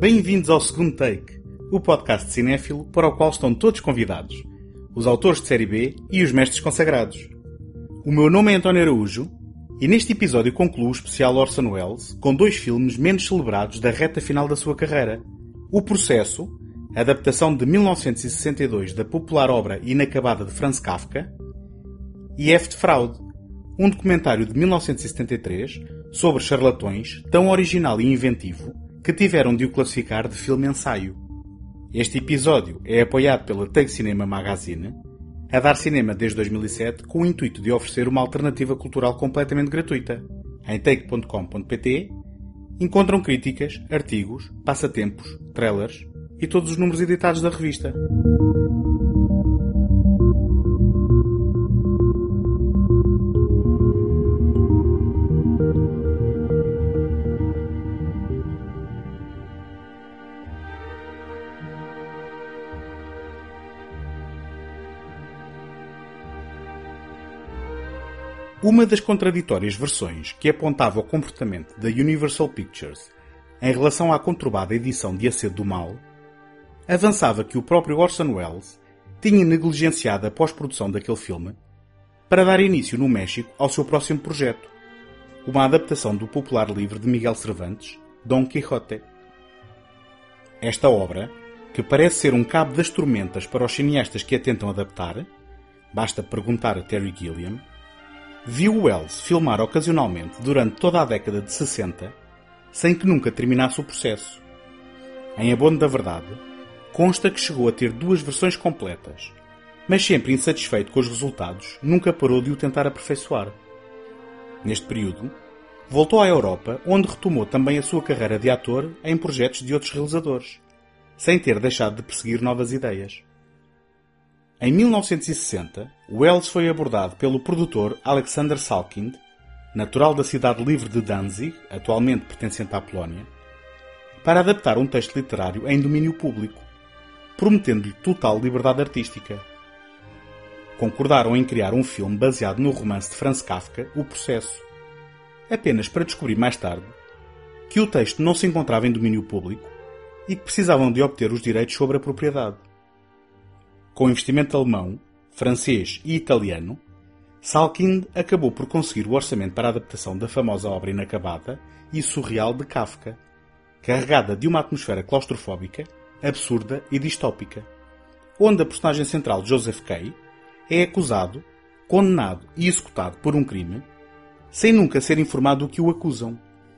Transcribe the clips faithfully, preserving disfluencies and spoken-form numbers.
Bem-vindos ao segundo Take, o podcast de cinéfilo para o qual estão todos convidados, os autores de série B e os mestres consagrados. O meu nome é António Araújo e neste episódio concluo o especial Orson Welles com dois filmes menos celebrados da reta final da sua carreira. O Processo, adaptação de mil novecentos e sessenta e dois da popular obra inacabada de Franz Kafka, e F de Fraude, um documentário de mil novecentos e setenta e três sobre charlatões tão original e inventivo que tiveram de o classificar de filme-ensaio. Este episódio é apoiado pela Take Cinema Magazine, a dar cinema desde dois mil e sete com o intuito de oferecer uma alternativa cultural completamente gratuita. Em take ponto com ponto pt encontram críticas, artigos, passatempos, trailers e todos os números editados da revista. Uma das contraditórias versões que apontava o comportamento da Universal Pictures em relação à conturbada edição de A Sede do Mal avançava que o próprio Orson Welles tinha negligenciado a pós-produção daquele filme para dar início no México ao seu próximo projeto, uma adaptação do popular livro de Miguel Cervantes, Dom Quixote. Esta obra, que parece ser um cabo das tormentas para os cineastas que a tentam adaptar, basta perguntar a Terry Gilliam, viu Welles filmar ocasionalmente durante toda a década de sessenta, sem que nunca terminasse o processo. Em abono da verdade, consta que chegou a ter duas versões completas, mas sempre insatisfeito com os resultados, nunca parou de o tentar aperfeiçoar. Neste período, voltou à Europa, onde retomou também a sua carreira de ator em projetos de outros realizadores, sem ter deixado de perseguir novas ideias. Em mil novecentos e sessenta, Welles foi abordado pelo produtor Alexander Salkind, natural da cidade livre de Danzig, atualmente pertencente à Polónia, para adaptar um texto literário em domínio público, prometendo-lhe total liberdade artística. Concordaram em criar um filme baseado no romance de Franz Kafka, O Processo, apenas para descobrir mais tarde que o texto não se encontrava em domínio público e que precisavam de obter os direitos sobre a propriedade. Com investimento alemão, francês e italiano, Salkind acabou por conseguir o orçamento para a adaptação da famosa obra inacabada e surreal de Kafka, carregada de uma atmosfera claustrofóbica, absurda e distópica, onde a personagem central Joseph Kay é acusado, condenado e executado por um crime, sem nunca ser informado do que o acusam.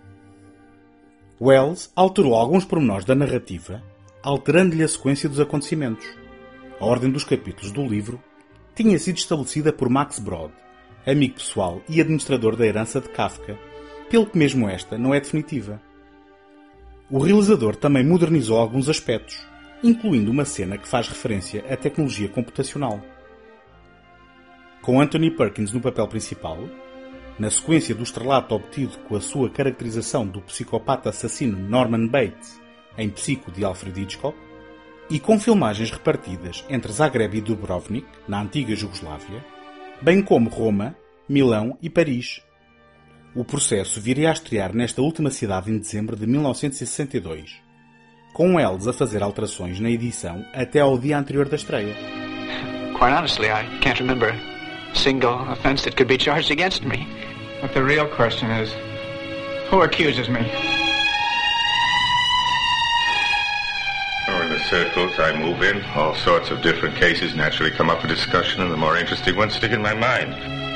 Welles alterou alguns pormenores da narrativa, alterando-lhe a sequência dos acontecimentos. A ordem dos capítulos do livro tinha sido estabelecida por Max Brod, amigo pessoal e administrador da herança de Kafka, pelo que mesmo esta não é definitiva. O realizador também modernizou alguns aspectos, incluindo uma cena que faz referência à tecnologia computacional. Com Anthony Perkins no papel principal, na sequência do estrelato obtido com a sua caracterização do psicopata assassino Norman Bates em Psico de Alfred Hitchcock, e com filmagens repartidas entre Zagreb e Dubrovnik, na antiga Jugoslávia, bem como Roma, Milão e Paris. O Processo viria a estrear nesta última cidade em dezembro de mil novecentos e sessenta e dois, com Welles a fazer alterações na edição até ao dia anterior da estreia. Quite honestly, I can't remember a single offense that could be charged against me. But the real question is, who accuses me? Oh, in the circles I move in, all sorts of different cases naturally come up for discussion, and the more interesting ones stick in my mind.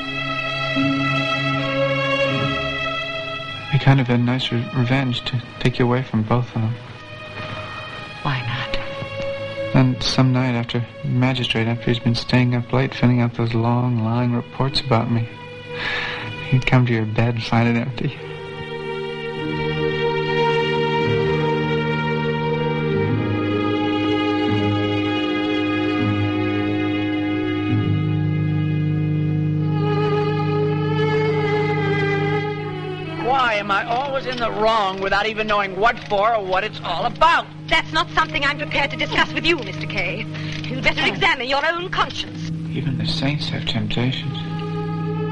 It'd be kind of a nice re- revenge to take you away from both of them. Why not? And some night after magistrate, after he's been staying up late filling out those long, lying reports about me, he'd come to your bed and find it empty. Am I always in the wrong without even knowing what for or what it's all about? That's not something I'm prepared to discuss with you, Mister Kay. You'd better examine your own conscience. Even the saints have temptations.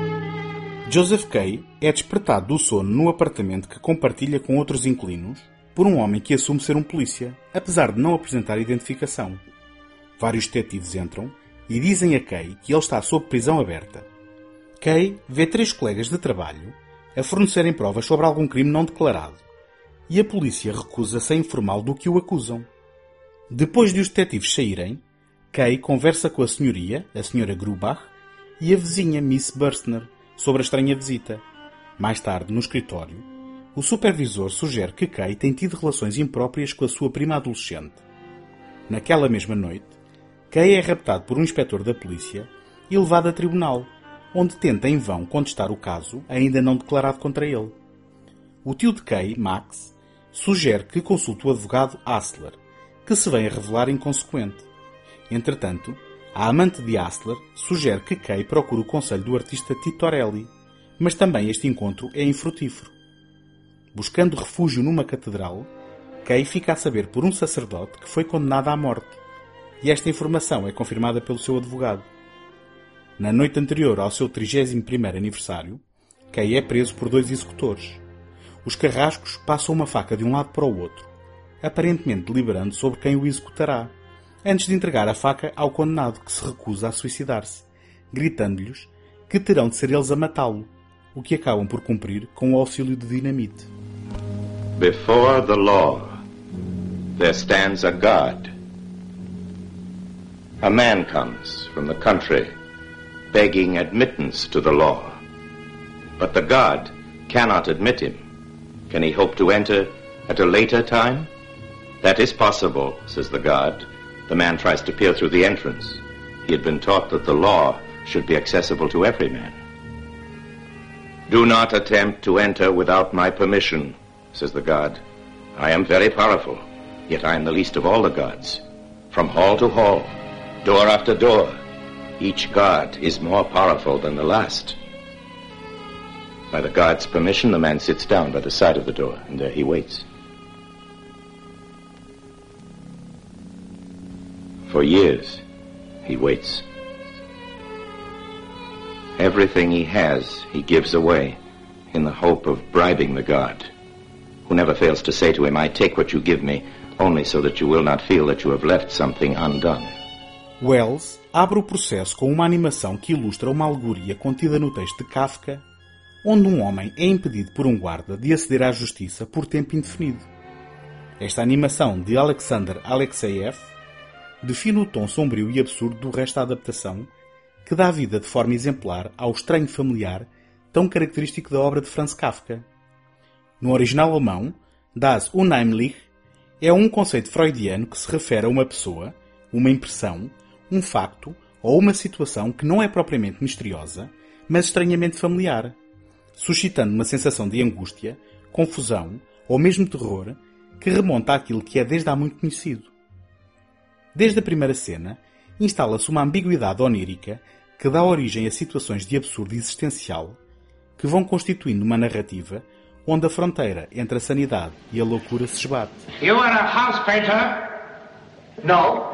Joseph Kay é despertado do sono no apartamento que compartilha com outros inquilinos por um homem que assume ser um polícia, apesar de não apresentar identificação. Vários detetives entram e dizem a Kay que ele está sob prisão aberta. Kay vê três colegas de trabalho a fornecerem provas sobre algum crime não declarado e a polícia recusa-se a informá-lo do que o acusam. Depois de os detetives saírem, Kay conversa com a senhoria, a senhora Grubach, e a vizinha Miss Burstner sobre a estranha visita. Mais tarde, no escritório, o supervisor sugere que Kay tem tido relações impróprias com a sua prima adolescente. Naquela mesma noite, Kay é raptado por um inspetor da polícia e levado a tribunal, onde tenta em vão contestar o caso ainda não declarado contra ele. O tio de Kay, Max, sugere que consulte o advogado Hassler, que se vem a revelar inconsequente. Entretanto, a amante de Hassler sugere que Kay procure o conselho do artista Titorelli, mas também este encontro é infrutífero. Buscando refúgio numa catedral, Kay fica a saber por um sacerdote que foi condenado à morte, e esta informação é confirmada pelo seu advogado. Na noite anterior ao seu trigésimo primeiro aniversário, Kay é preso por dois executores. Os carrascos passam uma faca de um lado para o outro, aparentemente deliberando sobre quem o executará, antes de entregar a faca ao condenado, que se recusa a suicidar-se, gritando-lhes que terão de ser eles a matá-lo, o que acabam por cumprir com o auxílio de dinamite. Before the law, there stands a God. A man comes from the country, begging admittance to the law. But the God cannot admit him. Can he hope to enter at a later time? That is possible, says the God. The man tries to peer through the entrance. He had been taught that the law should be accessible to every man. Do not attempt to enter without my permission, says the God. I am very powerful, yet I am the least of all the gods. From hall to hall, door after door, each god is more powerful than the last. By the God's permission, the man sits down by the side of the door, and there he waits. For years, he waits. Everything he has, he gives away in the hope of bribing the God, who never fails to say to him, I take what you give me, only so that you will not feel that you have left something undone. Wells abre o processo com uma animação que ilustra uma alegoria contida no texto de Kafka, onde um homem é impedido por um guarda de aceder à justiça por tempo indefinido. Esta animação de Alexander Alexeyev define o tom sombrio e absurdo do resto da adaptação, que dá vida de forma exemplar ao estranho familiar tão característico da obra de Franz Kafka. No original alemão, das Unheimlich é um conceito freudiano que se refere a uma pessoa, uma impressão, um facto ou uma situação que não é propriamente misteriosa, mas estranhamente familiar, suscitando uma sensação de angústia, confusão ou mesmo terror que remonta àquilo que é desde há muito conhecido. Desde a primeira cena, instala-se uma ambiguidade onírica que dá origem a situações de absurdo existencial que vão constituindo uma narrativa onde a fronteira entre a sanidade e a loucura se esbate. You are a house painter? No.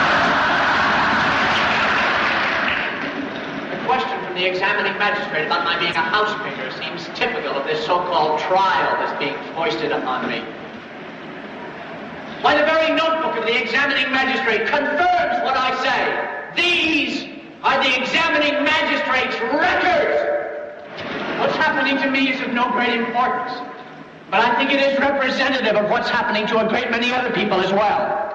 The question from the examining magistrate about my being a house painter seems typical of this so-called trial that's being foisted upon me. Why, the very notebook of the examining magistrate confirms what I say. These are the examining magistrate's records. What's happening to me is of no great importance, but I think it is representative of what's happening to a great many other people as well.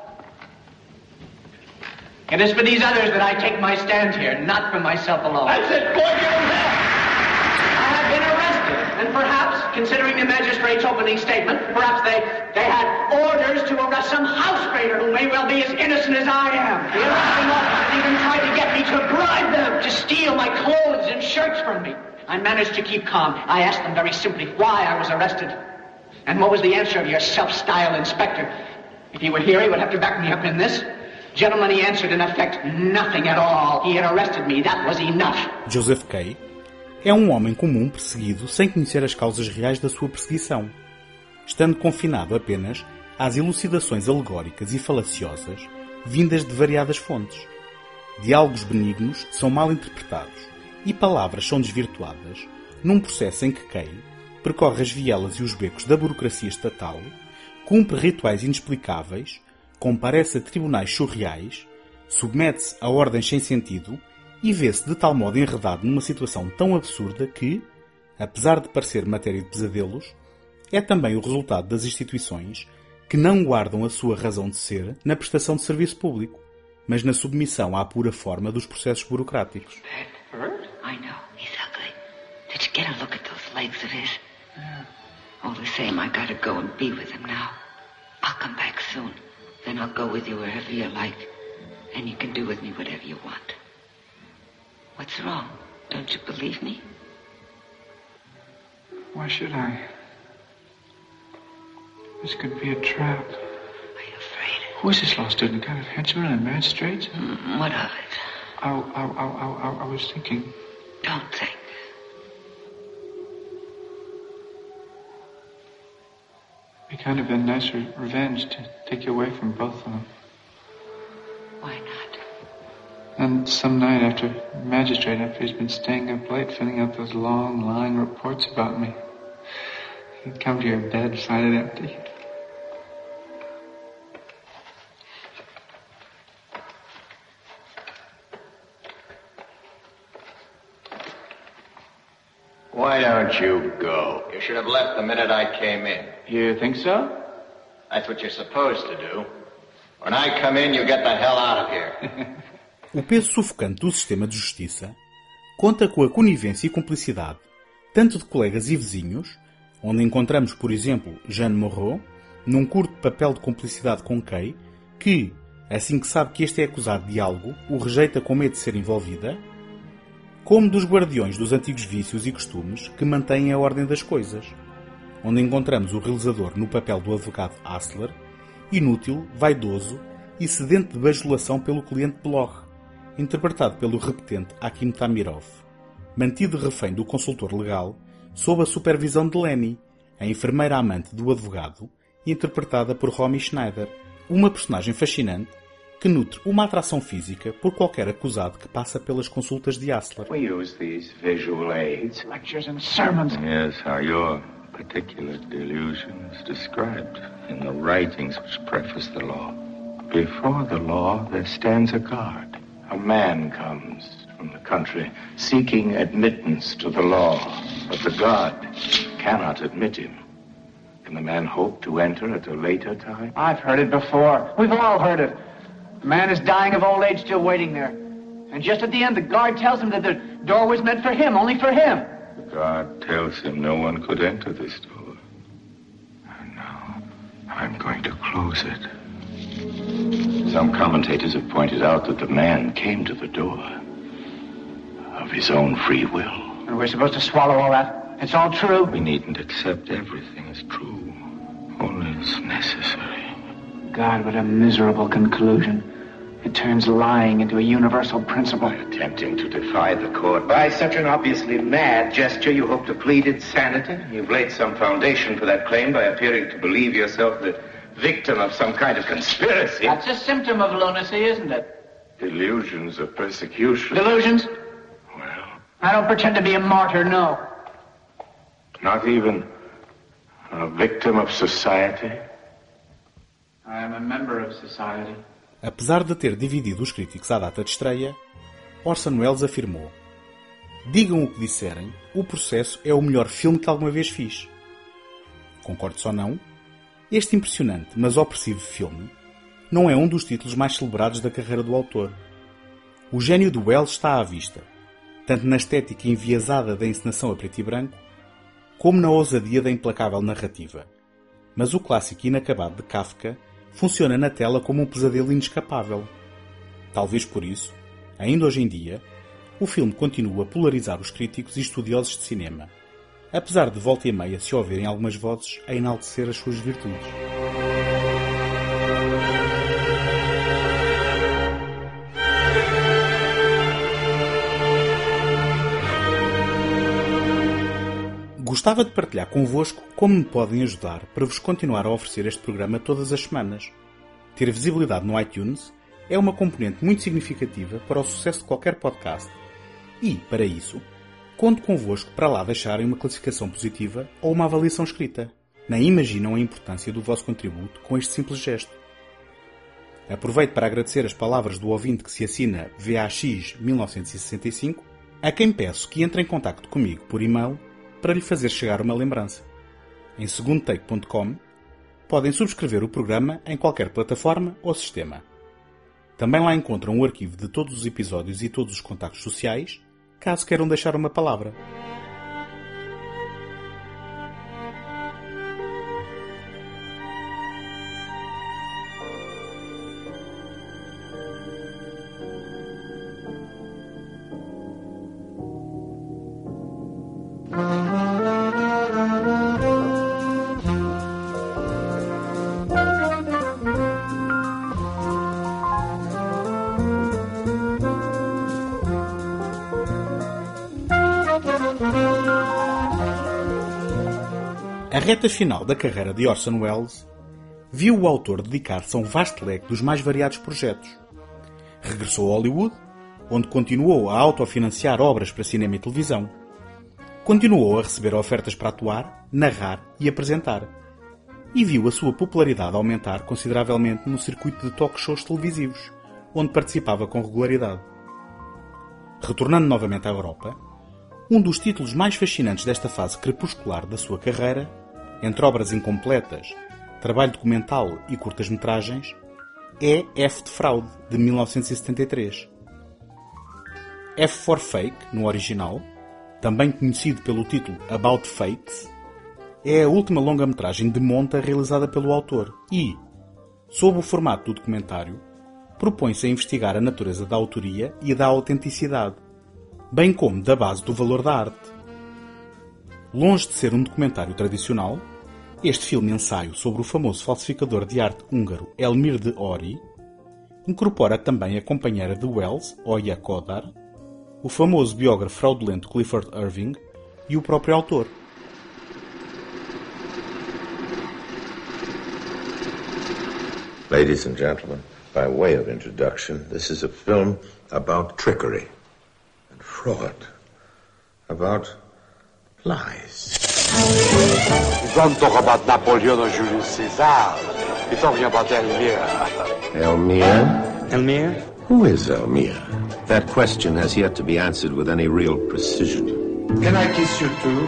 It is for these others that I take my stand here, not for myself alone. That's it, boy, get him there! I have been arrested, and perhaps, considering the magistrate's opening statement, perhaps they, they had orders to arrest some house painter who may well be as innocent as I am. The arresting officers even tried to get me to bribe them to steal my clothes and shirts from me. I managed to keep calm. I asked them very simply why I was arrested. And what was the answer of your self-styled inspector? If he were here, he would have to back me up in this. Gentlemen, he answered in effect, nothing at all. He had arrested me. That was enough. Joseph K. é um homem comum perseguido sem conhecer as causas reais da sua perseguição, estando confinado apenas às elucidações alegóricas e falaciosas vindas de variadas fontes. Diálogos benignos são mal interpretados e palavras são desvirtuadas num processo em que Kay percorre as vielas e os becos da burocracia estatal cumpre rituais inexplicáveis, comparece a tribunais surreais, submete-se a ordens sem sentido e vê-se de tal modo enredado numa situação tão absurda que, apesar de parecer matéria de pesadelos, é também o resultado das instituições que não guardam a sua razão de ser na prestação de serviço público, mas na submissão à pura forma dos processos burocráticos. Bert? I know. He's ugly. Did you get a look at those legs of his? Yeah. All the same, I gotta go and be with him now. I'll come back soon. Then I'll go with you wherever you like. And you can do with me whatever you want. What's wrong? Don't you believe me? Why should I? This could be a trap. Are you afraid? Who is this law student? Kind of henchman and magistrate? Mm, what of it? I, I, I, I, I was thinking... Don't think. It'd be kind of a nice re- revenge to take you away from both of them. Why not? And some night after, the magistrate, after he's been staying up late, filling out those long, lying reports about me, he'd come to your bed, find it empty. Why don't you go? You should have left the minute I came in. You think so? That's what you're supposed to do. When I come in, you get the hell out of here. O peso sufocante do sistema de justiça conta com a conivência e cumplicidade tanto de colegas e vizinhos, onde encontramos, por exemplo, Jeanne Moreau, num curto papel de cumplicidade com Kay, que, assim que sabe que este é acusado de algo, o rejeita com medo de ser envolvida, como dos guardiões dos antigos vícios e costumes que mantêm a ordem das coisas, onde encontramos o realizador no papel do advogado Hassler, inútil, vaidoso e sedento de bajulação pelo cliente Bloch, interpretado pelo repetente Akim Tamirov, mantido refém do consultor legal sob a supervisão de Lenny, a enfermeira amante do advogado, interpretada por Romy Schneider, uma personagem fascinante que nutre uma atração física por qualquer acusado que passa pelas consultas de Hassler. We use these visual aids. Lectures and sermons. Yes, how your particular delusion is described in the writings which preface the law. Before the law, there stands a guard. A man comes from the country seeking admittance to the law, but the guard cannot admit him. Can the man hope to enter at a later time? I've heard it before. We've all heard it. The man is dying of old age, still waiting there. And just at the end, the guard tells him that the door was meant for him, only for him. The guard tells him no one could enter this door. And now, I'm going to close it. Some commentators have pointed out that the man came to the door of his own free will. And we're supposed to swallow all that? It's all true? We needn't accept everything as true, only as necessary. God, what a miserable conclusion. It turns lying into a universal principle. By attempting to defy the court by such an obviously mad gesture, you hope to plead insanity. You've laid some foundation for that claim by appearing to believe yourself the victim of some kind of conspiracy. That's a symptom of lunacy, isn't it? Delusions of persecution. Delusions? Well, I don't pretend to be a martyr, no. Not even a victim of society? I am a member of society. Apesar de ter dividido os críticos à data de estreia, Orson Welles afirmou: digam o que disserem, o Processo é o melhor filme que alguma vez fiz. Concordes ou não, este impressionante, mas opressivo filme não é um dos títulos mais celebrados da carreira do autor. O gênio de Welles está à vista, tanto na estética enviesada da encenação a preto e branco, como na ousadia da implacável narrativa. Mas o clássico inacabado de Kafka funciona na tela como um pesadelo inescapável. Talvez por isso, ainda hoje em dia, o filme continua a polarizar os críticos e estudiosos de cinema, apesar de volta e meia se ouvirem algumas vozes a enaltecer as suas virtudes. Gostava de partilhar convosco como me podem ajudar para vos continuar a oferecer este programa todas as semanas. Ter visibilidade no iTunes é uma componente muito significativa para o sucesso de qualquer podcast e, para isso, conto convosco para lá deixarem uma classificação positiva ou uma avaliação escrita. nem imaginam a importância do vosso contributo com este simples gesto. Aproveito para agradecer as palavras do ouvinte que se assina V A X mil novecentos e sessenta e cinco, a quem peço que entre em contacto comigo por e-mail para lhe fazer chegar uma lembrança. Em segundo take ponto com podem subscrever o programa em qualquer plataforma ou sistema. Também lá encontram o arquivo de todos os episódios e todos os contactos sociais, caso queiram deixar uma palavra. A reta final da carreira de Orson Welles viu o autor dedicar-se a um vasto leque dos mais variados projetos. Regressou a Hollywood, onde continuou a autofinanciar obras para cinema e televisão. Continuou a receber ofertas para atuar, narrar e apresentar. E viu a sua popularidade aumentar consideravelmente no circuito de talk shows televisivos, onde participava com regularidade. Retornando novamente à Europa, um dos títulos mais fascinantes desta fase crepuscular da sua carreira, entre obras incompletas, trabalho documental e curtas-metragens, é F de Fraude, de mil novecentos e setenta e três. F for Fake, no original, também conhecido pelo título About Fakes, é a última longa-metragem de monta realizada pelo autor e, sob o formato do documentário, propõe-se a investigar a natureza da autoria e da autenticidade, bem como da base do valor da arte. Longe de ser um documentário tradicional, este filme-ensaio sobre o famoso falsificador de arte húngaro Elmir de Ori incorpora também a companheira de Welles, Oya Kodar, o famoso biógrafo fraudulento Clifford Irving e o próprio autor. Ladies and gentlemen, by way of introduction, this is a film about trickery and fraud, about lies. You don't talk about Napoleon or Julius Caesar. You're talking about Elmire. Elmire? Elmire? Who is Elmire? That question has yet to be answered with any real precision. Can I kiss you too?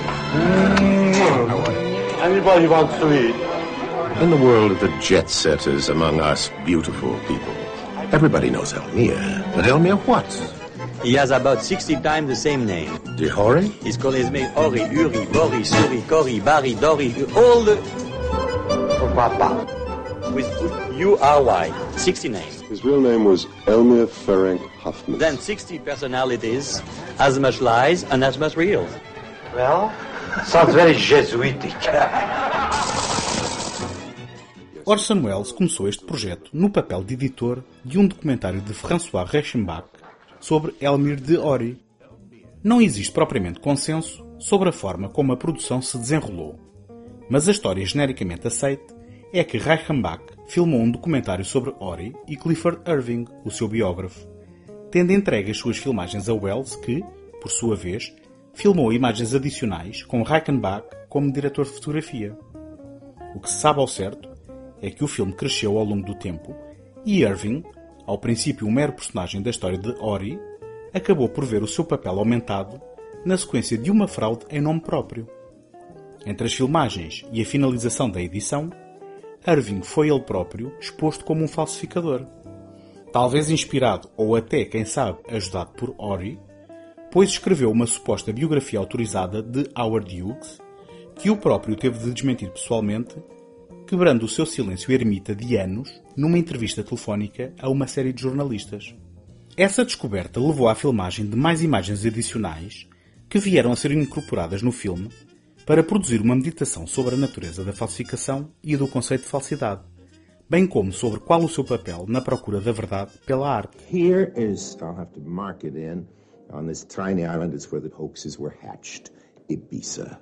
Mm-hmm. Anybody wants to eat? In the world of the jet-setters among us beautiful people, everybody knows Elmire. But Elmire what? He has about sixty times the same name. De Hori? He's called his name Ori, Uri, Bori, Suri, Kori, Bari, Dori, all the... Papa. With U R Y, sixty names. His real name was Elmire Ferenc Huffman. Then sixty personalities, as much lies and as much real. Well, sounds very Jesuitic. Orson Welles começou este projeto no papel de editor de um documentário de François Reichenbach sobre Elmire de Ori. Não existe propriamente consenso sobre a forma como a produção se desenrolou, mas a história genericamente aceita é que Reichenbach filmou um documentário sobre Ori e Clifford Irving, o seu biógrafo, tendo entregue as suas filmagens a Welles que, por sua vez, filmou imagens adicionais com Reichenbach como diretor de fotografia. O que se sabe ao certo é que o filme cresceu ao longo do tempo e Irving, ao princípio um mero personagem da história de Ori, acabou por ver o seu papel aumentado na sequência de uma fraude em nome próprio. Entre as filmagens e a finalização da edição, Irving foi ele próprio exposto como um falsificador. Talvez inspirado ou até, quem sabe, ajudado por Ori, pois escreveu uma suposta biografia autorizada de Howard Hughes, que o próprio teve de desmentir pessoalmente, quebrando o seu silêncio ermita de anos numa entrevista telefónica a uma série de jornalistas. Essa descoberta levou à filmagem de mais imagens adicionais que vieram a ser incorporadas no filme para produzir uma meditação sobre a natureza da falsificação e do conceito de falsidade, bem como sobre qual o seu papel na procura da verdade pela arte. Here is, I'll have to mark it in, on this tiny island is where the hoaxes were hatched, Ibiza.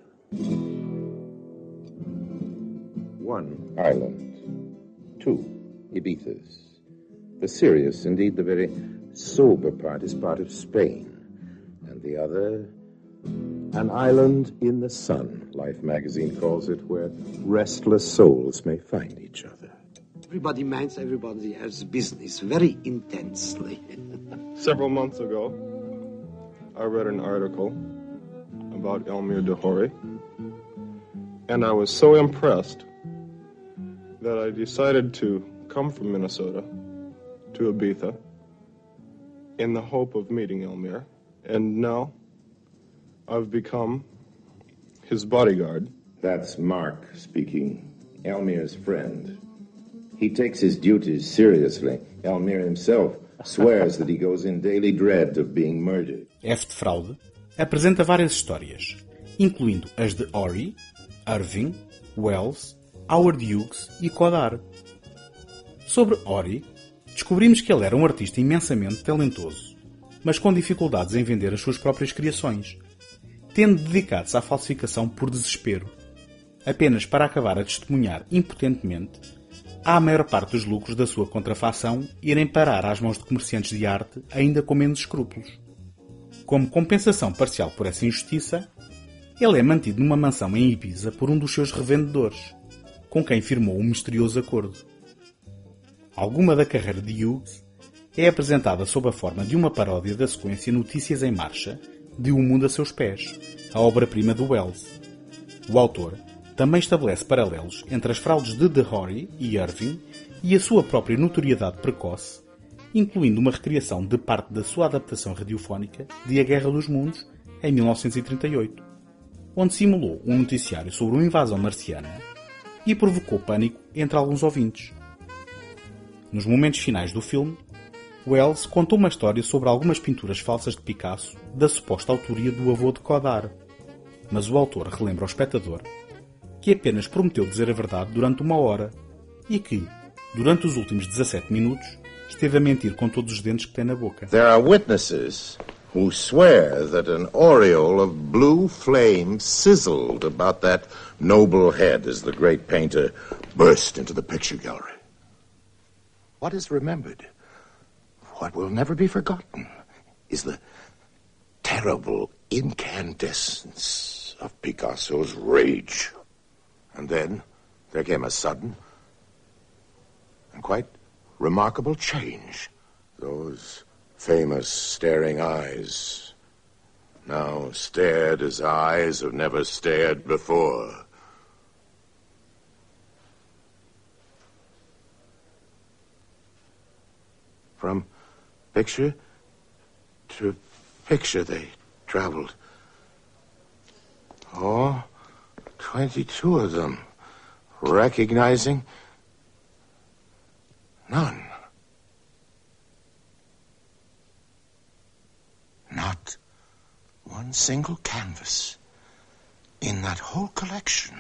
One island, two Ibizas. The serious, indeed the very sober part is part of Spain, and the other An island in the sun, Life magazine calls it, where restless souls may find each other. Everybody minds everybody else's business very intensely. Several months ago, I read an article about Elmire Dehori, and I was so impressed that I decided to come from Minnesota to Ibiza in the hope of meeting Elmire, and now I've become his bodyguard. That's Mark speaking, Elmire's friend. He takes his duties seriously. Elmire himself swears that he goes in daily dread of being murdered. F de Fraude apresenta várias histórias, incluindo as de Horry, Irving, Wells, Howard Hughes e Godard. Sobre Horry, descobrimos que ele era um artista imensamente talentoso, mas com dificuldades em vender as suas próprias criações, tendo dedicado-se à falsificação por desespero, apenas para acabar a testemunhar impotentemente a maior parte dos lucros da sua contrafação irem parar às mãos de comerciantes de arte ainda com menos escrúpulos. Como compensação parcial por essa injustiça, ele é mantido numa mansão em Ibiza por um dos seus revendedores, com quem firmou um misterioso acordo. Alguma da carreira de Hughes é apresentada sob a forma de uma paródia da sequência Notícias em Marcha de O Mundo a Seus Pés, a obra-prima do Wells. O autor também estabelece paralelos entre as fraudes de Dehori e Irving e a sua própria notoriedade precoce, incluindo uma recriação de parte da sua adaptação radiofónica de A Guerra dos Mundos, em mil novecentos e trinta e oito, onde simulou um noticiário sobre uma invasão marciana e provocou pânico entre alguns ouvintes. Nos momentos finais do filme, Wells contou uma história sobre algumas pinturas falsas de Picasso da suposta autoria do avô de Godard, mas o autor relembra ao espectador que apenas prometeu dizer a verdade durante uma hora e que, durante os últimos dezassete minutos, esteve a mentir com todos os dentes que tem na boca. There are witnesses who swear that an aureole of blue flame sizzled about that noble head as the great painter burst into the picture gallery. What is remembered, what will never be forgotten, is the terrible incandescence of Picasso's rage. And then there came a sudden and quite remarkable change. Those famous staring eyes now stared as eyes have never stared before. From picture to picture they traveled. Oh, twenty-two of them, recognizing none. Not one single canvas in that whole collection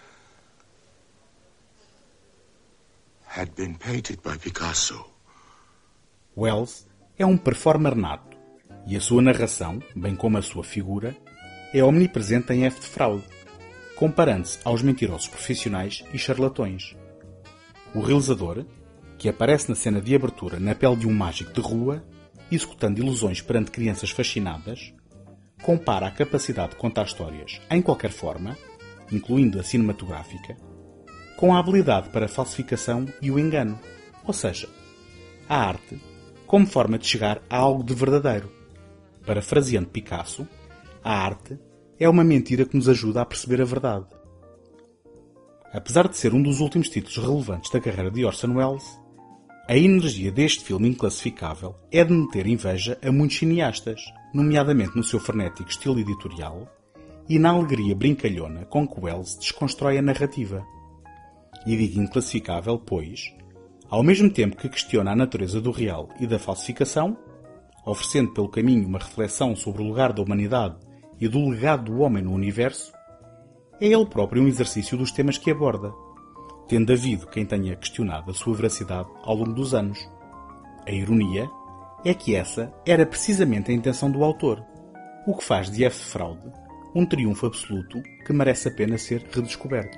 had been painted by Picasso. Wells é um performer nato e a sua narração, bem como a sua figura, é omnipresente em F de Fraude, comparando-se aos mentirosos profissionais e charlatões. O realizador, que aparece na cena de abertura na pele de um mágico de rua, executando ilusões perante crianças fascinadas, compara a capacidade de contar histórias em qualquer forma, incluindo a cinematográfica, com a habilidade para a falsificação e o engano, ou seja, a arte como forma de chegar a algo de verdadeiro. Parafraseando Picasso, a arte é uma mentira que nos ajuda a perceber a verdade. Apesar de ser um dos últimos títulos relevantes da carreira de Orson Welles, a energia deste filme inclassificável é de meter inveja a muitos cineastas, nomeadamente no seu frenético estilo editorial e na alegria brincalhona com que Welles desconstrói a narrativa. E digo inclassificável, pois, ao mesmo tempo que questiona a natureza do real e da falsificação, oferecendo pelo caminho uma reflexão sobre o lugar da humanidade e do legado do homem no universo, é ele próprio um exercício dos temas que aborda, tendo havido quem tenha questionado a sua veracidade ao longo dos anos. A ironia é que essa era precisamente a intenção do autor, o que faz de F de Fraude um triunfo absoluto que merece a pena ser redescoberto.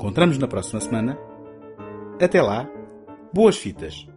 Encontramos na próxima semana. Até lá, boas fitas!